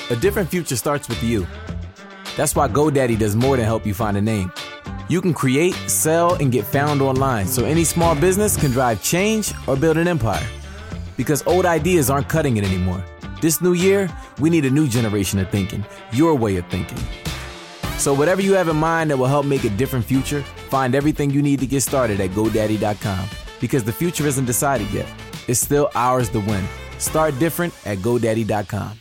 A different future starts with you. That's why GoDaddy does more than help you find a name. You can create, sell, and get found online so any small business can drive change or build an empire. Because old ideas aren't cutting it anymore. This new year, we need a new generation of thinking, your way of thinking. So whatever you have in mind that will help make a different future, find everything you need to get started at GoDaddy.com. Because the future isn't decided yet. It's still ours to win. Start different at GoDaddy.com.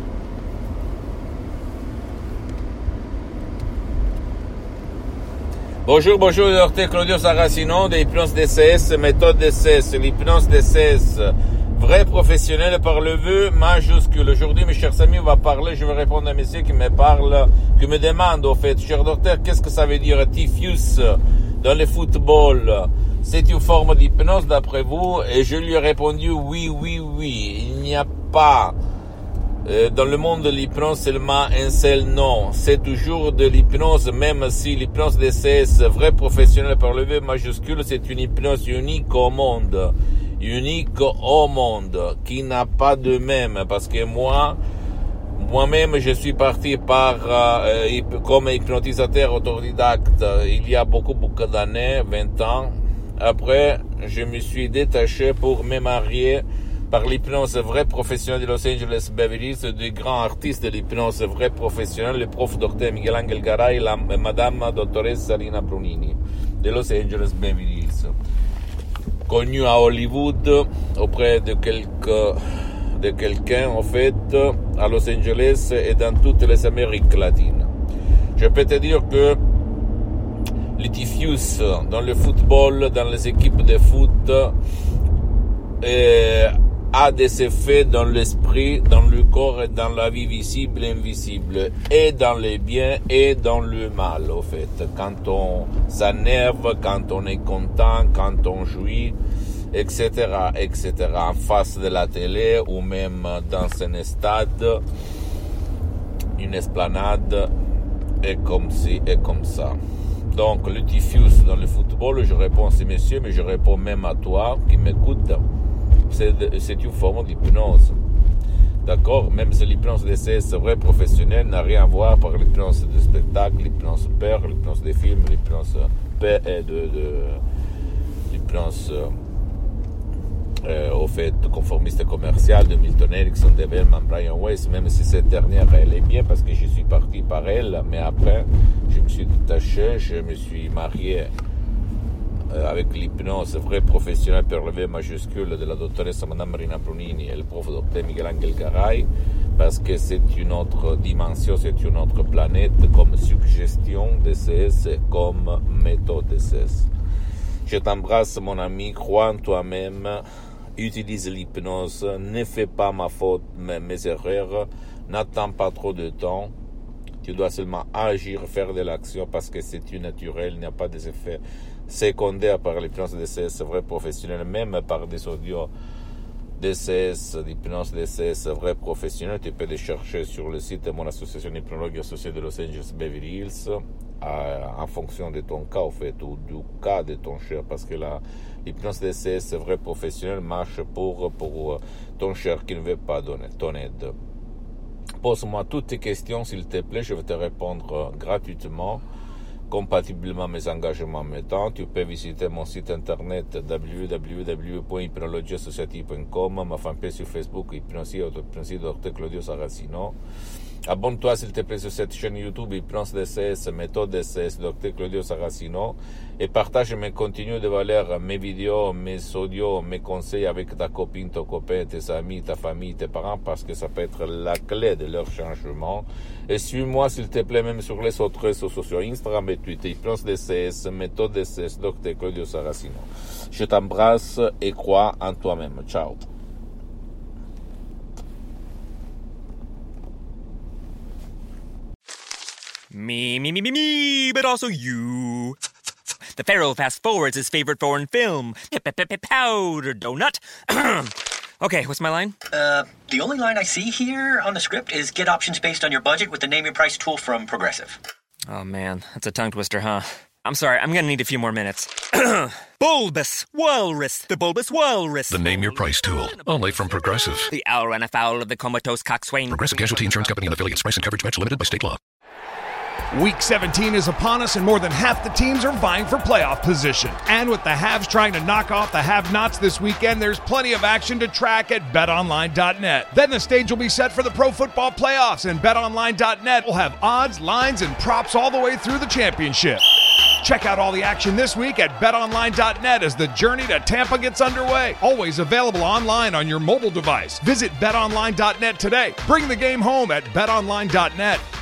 Bonjour, Dr Claudio Saracino de l'hypnose DCS, méthode DCS, l'hypnose DCS, vrai professionnel par le vœu majuscule. Aujourd'hui, mes chers amis, on va parler, je vais répondre à un monsieur qui me parle, qui me demande, au fait, cher docteur, qu'est-ce que ça veut dire diffuse dans le football? C'est une forme d'hypnose d'après vous? Et je lui ai répondu oui. Il n'y a pas dans le monde de l'hypnose seulement un seul nom. C'est toujours de l'hypnose, même si l'hypnose DCS, vrai professionnel par le V majuscule, c'est une hypnose unique au monde, qui n'a pas de même, parce que moi-même, je suis parti comme hypnotisateur autodidacte il y a beaucoup d'années, 20 ans. Après, je me suis détaché pour me marier par l'hypnose vraie professionnelle de Los Angeles Beverly Hills, du grand artiste de l'hypnose vraie professionnelle, le prof Dr Miguel Angel Garay, la madame dottoressa Rina Brunini de Los Angeles Beverly Hills, connue à Hollywood auprès de quelqu'un en fait à Los Angeles et dans toutes les Amériques latines. Je peux te dire que le diffuse dans le football, dans les équipes de foot, a des effets dans l'esprit, dans le corps et dans la vie visible et invisible, et dans le bien et dans le mal, au fait. Quand on s'énerve, quand on est content, quand on jouit, etc., en face de la télé ou même dans un stade, une esplanade, et comme ci et comme ça. Donc, le diffuse dans le football, je réponds à ces messieurs, mais je réponds même à toi qui m'écoute. C'est une forme d'hypnose. D'accord? Même si l'hypnose DCS vrai professionnel n'a rien à voir par l'hypnose de spectacle, l'hypnose peur, l'hypnose des films, l'hypnose l'hypnose au fait conformiste commercial de Milton Erickson, de Bellman, Brian Weiss, même si cette dernière elle est bien parce que je suis parti par elle, mais après je me suis détaché, je me suis marié avec l'hypnose vrai professionnel per le V majuscule de la dottoressa Madame Rina Brunini et le prof Dr Miguel Angel Garay, parce que c'est une autre dimension, c'est une autre planète, comme suggestion DCS et comme méthode DCS. Je t'embrasse mon ami, crois en toi-même, utilise l'hypnose, ne fais pas ma faute, mes erreurs, n'attends pas trop de temps. Tu dois seulement agir, faire de l'action parce que c'est tout naturel, il n'y a pas des effets secondaires par l'hypnose DCS vrai professionnel, même par des audios DCS, l'hypnose DCS vrai professionnel. Tu peux les chercher sur le site de mon association hypnologue associée de Los Angeles Beverly Hills, en fonction de ton cas, au fait, ou du cas de ton cher, parce que l'hypnose DCS vrai professionnel marche pour ton cher qui ne veut pas donner ton aide. Pose-moi toutes tes questions, s'il te plaît, je vais te répondre gratuitement, compatiblement à mes engagements mettants. Tu peux visiter mon site internet www.hypnologieassociative.com, ma fanpage sur Facebook, Hypnosie Dr Claudio Saracino. Abonne-toi s'il te plaît sur cette chaîne YouTube Hypnose DCS, méthode DCS, Dr Claudio Saracino, et partage mes contenus de valeur, mes vidéos, mes audios, mes conseils avec ta copine, ton copain, tes amis, ta famille, tes parents, parce que ça peut être la clé de leur changement. Et suis-moi s'il te plaît même sur les autres réseaux sociaux, Instagram et Twitter, Hypnose DCS, méthode DCS, Dr Claudio Saracino. Je t'embrasse et crois en toi-même. Ciao. Me, but also you. The Pharaoh fast forwards his favorite foreign film, Powder Donut. Okay, what's my line? The only line I see here on the script is get options based on your budget with the Name Your Price tool from Progressive. Oh man, that's a tongue twister, huh? I'm sorry, I'm gonna need a few more minutes. Bulbous Walrus, the Bulbous Walrus. The Name Your Price tool, only from Progressive. The owl ran afoul of the comatose coxswain. Progressive Casualty Insurance Company and affiliates. Price and coverage match limited by state law. Week 17 is upon us, and more than half the teams are vying for playoff position. And with the haves trying to knock off the have-nots this weekend, there's plenty of action to track at BetOnline.net. Then the stage will be set for the Pro Football Playoffs, and BetOnline.net will have odds, lines, and props all the way through the championship. Check out all the action this week at BetOnline.net as the journey to Tampa gets underway. Always available online on your mobile device. Visit BetOnline.net today. Bring the game home at BetOnline.net.